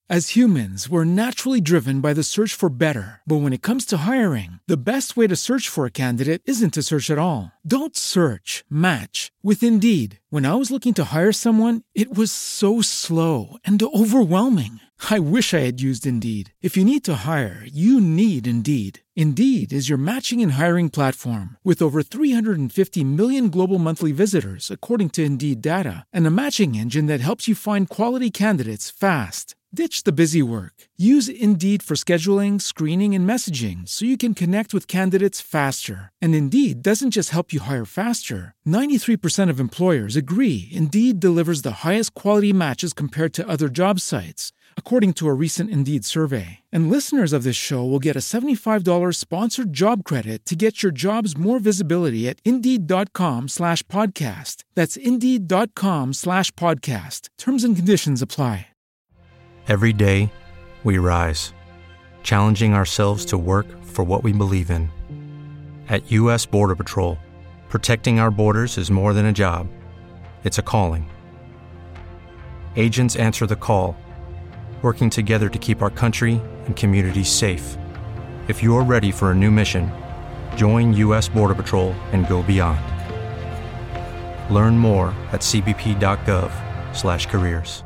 As humans, we're naturally driven by the search for better. But when it comes to hiring, the best way to search for a candidate isn't to search at all. Don't search, match with Indeed. When I was looking to hire someone, it was so slow and overwhelming. I wish I had used Indeed. If you need to hire, you need Indeed. Indeed is your matching and hiring platform with over 350 million global monthly visitors, according to Indeed data, and a matching engine that helps you find quality candidates fast. Ditch the busy work. Use Indeed for scheduling, screening, and messaging so you can connect with candidates faster. And Indeed doesn't just help you hire faster. 93% of employers agree Indeed delivers the highest quality matches compared to other job sites, according to a recent Indeed survey. And listeners of this show will get a $75 sponsored job credit to get your jobs more visibility at Indeed.com/podcast. That's Indeed.com/podcast. Terms and conditions apply. Every day, we rise, challenging ourselves to work for what we believe in. At U.S. Border Patrol, protecting our borders is more than a job. It's a calling. Agents answer the call, working together to keep our country and communities safe. If you're ready for a new mission, join U.S. Border Patrol and go beyond. Learn more at cbp.gov/careers.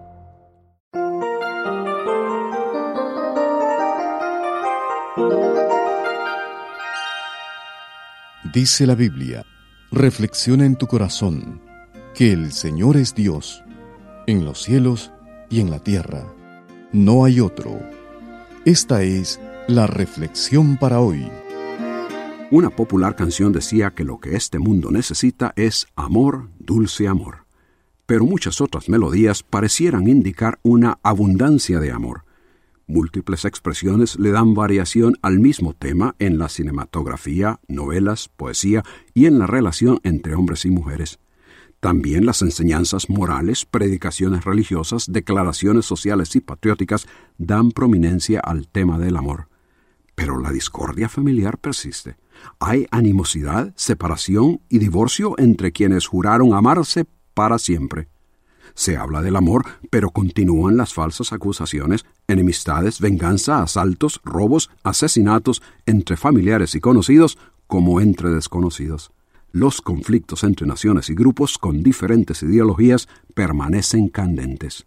Dice la Biblia, reflexiona en tu corazón, que el Señor es Dios, en los cielos y en la tierra. No hay otro. Esta es la reflexión para hoy. Una popular canción decía que lo que este mundo necesita es amor, dulce amor. Pero muchas otras melodías parecieran indicar una abundancia de amor. Múltiples expresiones le dan variación al mismo tema en la cinematografía, novelas, poesía y en la relación entre hombres y mujeres. También las enseñanzas morales, predicaciones religiosas, declaraciones sociales y patrióticas dan prominencia al tema del amor. Pero la discordia familiar persiste. Hay animosidad, separación y divorcio entre quienes juraron amarse para siempre. Se habla del amor, pero continúan las falsas acusaciones, enemistades, venganza, asaltos, robos, asesinatos entre familiares y conocidos como entre desconocidos. Los conflictos entre naciones y grupos con diferentes ideologías permanecen candentes.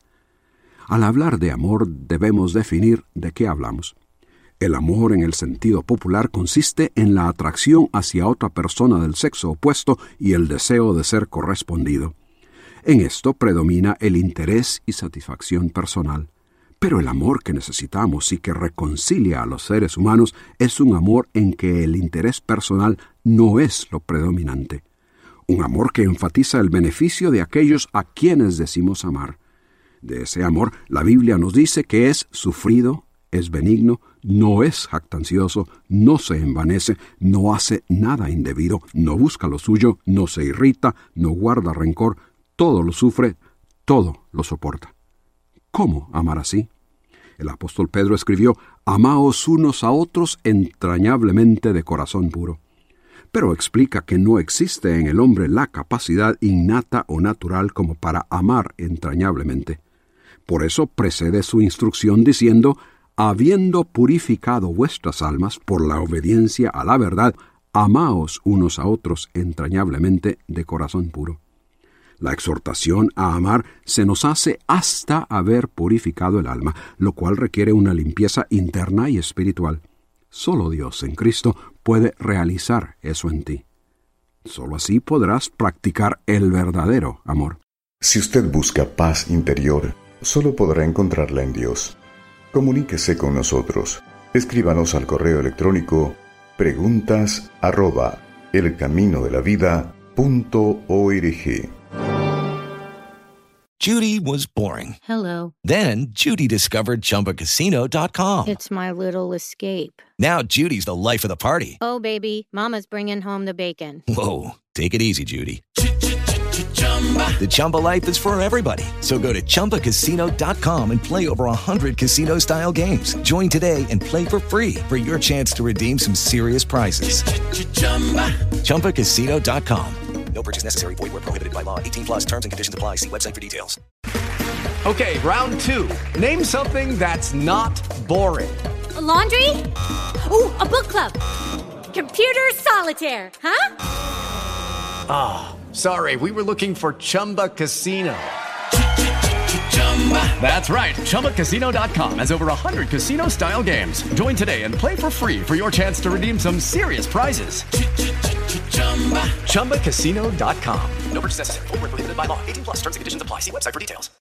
Al hablar de amor debemos definir de qué hablamos. El amor en el sentido popular consiste en la atracción hacia otra persona del sexo opuesto y el deseo de ser correspondido. En esto predomina el interés y satisfacción personal. Pero el amor que necesitamos y que reconcilia a los seres humanos es un amor en que el interés personal no es lo predominante. Un amor que enfatiza el beneficio de aquellos a quienes decimos amar. De ese amor, la Biblia nos dice que es sufrido, es benigno, no es jactancioso, no se envanece, no hace nada indebido, no busca lo suyo, no se irrita, no guarda rencor, todo lo sufre, todo lo soporta. ¿Cómo amar así? El apóstol Pedro escribió: «Amaos unos a otros entrañablemente de corazón puro». Pero explica que no existe en el hombre la capacidad innata o natural como para amar entrañablemente. Por eso precede su instrucción diciendo: «Habiendo purificado vuestras almas por la obediencia a la verdad, amaos unos a otros entrañablemente de corazón puro». La exhortación a amar se nos hace hasta haber purificado el alma, lo cual requiere una limpieza interna y espiritual. Solo Dios en Cristo puede realizar eso en ti. Solo así podrás practicar el verdadero amor. Si usted busca paz interior, solo podrá encontrarla en Dios. Comuníquese con nosotros. Escríbanos al correo electrónico preguntas@elcaminodelavida.org. Judy was boring. Hello. Then Judy discovered ChumbaCasino.com. It's my little escape. Now Judy's the life of the party. Oh, baby, mama's bringing home the bacon. Whoa, take it easy, Judy. The Chumba life is for everybody. So go to ChumbaCasino.com and play over 100 casino-style games. Join today and play for free for your chance to redeem some serious prizes. ChumbaCasino.com. No purchase necessary. Void where prohibited by law. 18+ terms and conditions apply. See website for details. Okay, round two. Name something that's not boring. A laundry? Ooh, a book club. Computer solitaire, huh? Ah, sorry, we were looking for Chumba Casino. That's right, ChumbaCasino.com has over 100 casino-style games. Join today and play for free for your chance to redeem some serious prizes. ChumbaCasino.com. No purchase necessary. Void where prohibited by law. 18+ terms and conditions apply. See website for details.